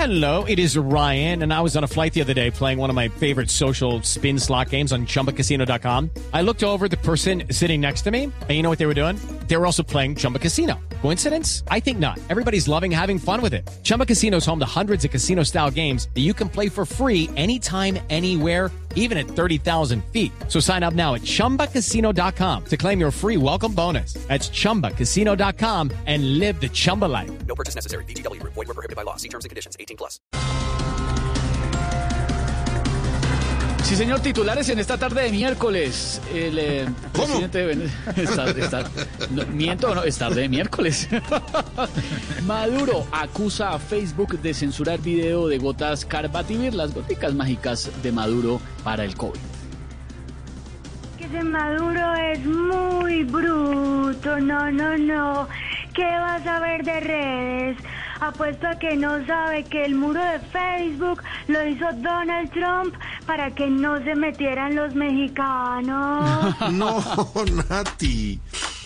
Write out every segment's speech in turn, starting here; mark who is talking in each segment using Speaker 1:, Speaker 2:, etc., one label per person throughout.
Speaker 1: Hello, it is Ryan, and I was on a flight the other day playing one of my favorite social spin slot games on ChumbaCasino.com. I looked over at the person sitting next to me, and you know what they were doing? They were also playing Chumba Casino. Coincidence? I think not. Everybody's loving having fun with it. Chumba Casino is home to hundreds of casino-style games that you can play for free anytime, anywhere, even at 30,000 feet. So sign up now at ChumbaCasino.com to claim your free welcome bonus. That's ChumbaCasino.com and live the Chumba life.
Speaker 2: No purchase necessary. VGW. Void where prohibited by law. See terms and conditions. 18+.
Speaker 3: Sí, señor, titulares en esta tarde de miércoles. El presidente de es tarde de miércoles. Maduro acusa a Facebook de censurar video de gotas Carbativir, las goticas mágicas de Maduro para el COVID.
Speaker 4: Que ese Maduro es muy bruto, no. ¿Qué vas a ver de redes? Apuesto a que no sabe que el muro de Facebook lo hizo Donald Trump para que no se metieran los mexicanos.
Speaker 5: No, Nati.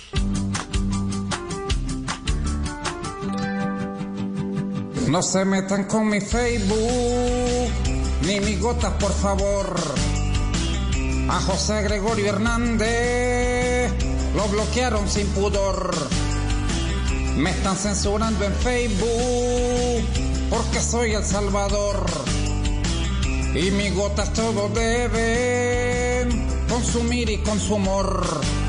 Speaker 6: No se metan con mi Facebook, ni mis gotas, por favor. A José Gregorio Hernández lo bloquearon sin pudor. Me están censurando en Facebook porque soy El Salvador. Y mis gotas todo deben consumir y consumor.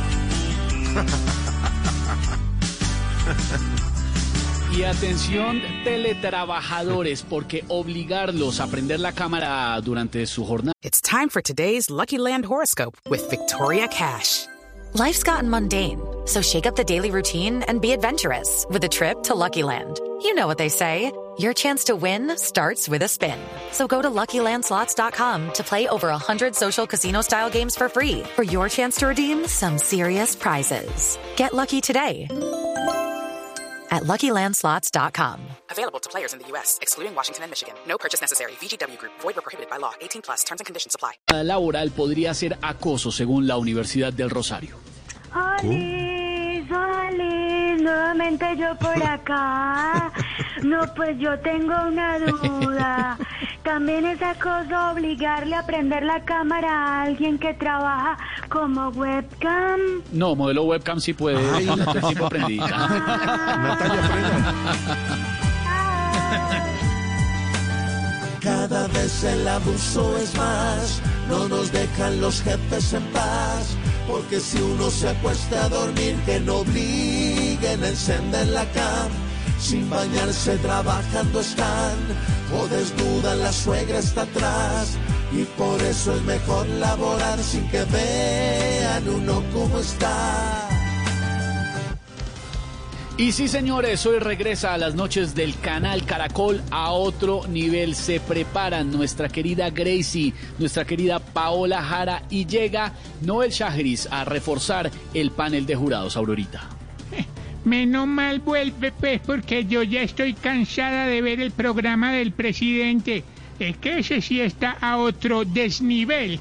Speaker 3: Y atención, teletrabajadores, porque obligarlos a prender la cámara durante su jornada.
Speaker 7: It's time for today's Lucky Land horoscope with Victoria Cash. Life's gotten mundane, so shake up the daily routine and be adventurous with a trip to Lucky Land. You know what they say, your chance to win starts with a spin. So go to LuckyLandSlots.com to play over 100 social casino-style games for free for your chance to redeem some serious prizes. Get lucky today at LuckyLandSlots.com. Available to players in the U.S., excluding Washington and Michigan. No purchase necessary. VGW Group. Void or prohibited by law. 18+. Terms and conditions apply.
Speaker 3: Laboral podría ser acoso, según la Universidad del Rosario.
Speaker 4: Alice, nuevamente yo por acá. No, pues yo tengo una duda. ¿También es acoso obligarle a prender la cámara a alguien que trabaja como webcam?
Speaker 3: No, modelo webcam sí puede. Y la tipo prendida.
Speaker 5: Natalia Frena.
Speaker 8: Cada vez el abuso es más, no nos dejan los jefes en paz, porque si uno se acuesta a dormir, que no obliguen a encender la cam, sin bañarse trabajando están, o desnuda la suegra está atrás, y por eso es mejor laborar sin que vean uno cómo está.
Speaker 3: Y sí, señores, hoy regresa a las noches del canal Caracol a otro nivel. Se preparan nuestra querida Gracie, nuestra querida Paola Jara y llega Noel Shahriz a reforzar el panel de jurados, Aurorita.
Speaker 9: Menos mal vuelve, pues, porque yo ya estoy cansada de ver el programa del presidente. Es que ese sí está a otro desnivel.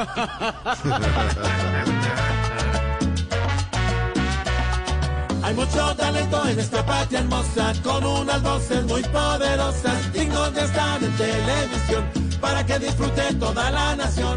Speaker 8: Hay mucho talento en esta patria hermosa, con unas voces muy poderosas, dignos de estar en televisión, para que disfrute toda la nación.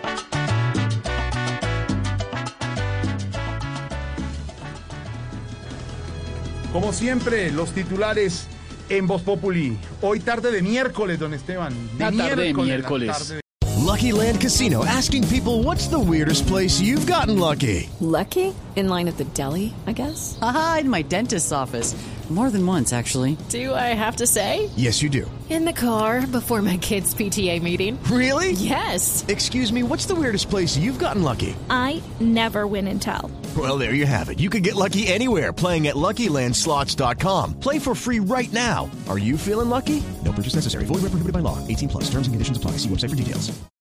Speaker 5: Como siempre, los titulares en Voz Populi. Hoy tarde de miércoles, don Esteban.
Speaker 3: Tarde de miércoles.
Speaker 10: Lucky Land Casino, asking people, what's the weirdest place you've gotten lucky?
Speaker 11: Lucky? In line at the deli, I guess?
Speaker 12: Aha, in my dentist's office. More than once, actually.
Speaker 11: Do I have to say?
Speaker 10: Yes, you do.
Speaker 11: In the car before my kids' PTA meeting.
Speaker 10: Really?
Speaker 11: Yes.
Speaker 10: Excuse me, what's the weirdest place you've gotten lucky?
Speaker 13: I never win and tell.
Speaker 10: Well, there you have it. You can get lucky anywhere, playing at LuckyLandSlots.com. Play for free right now. Are you feeling lucky? No purchase necessary. Void where prohibited by law. 18+. Terms and conditions apply. See website for details.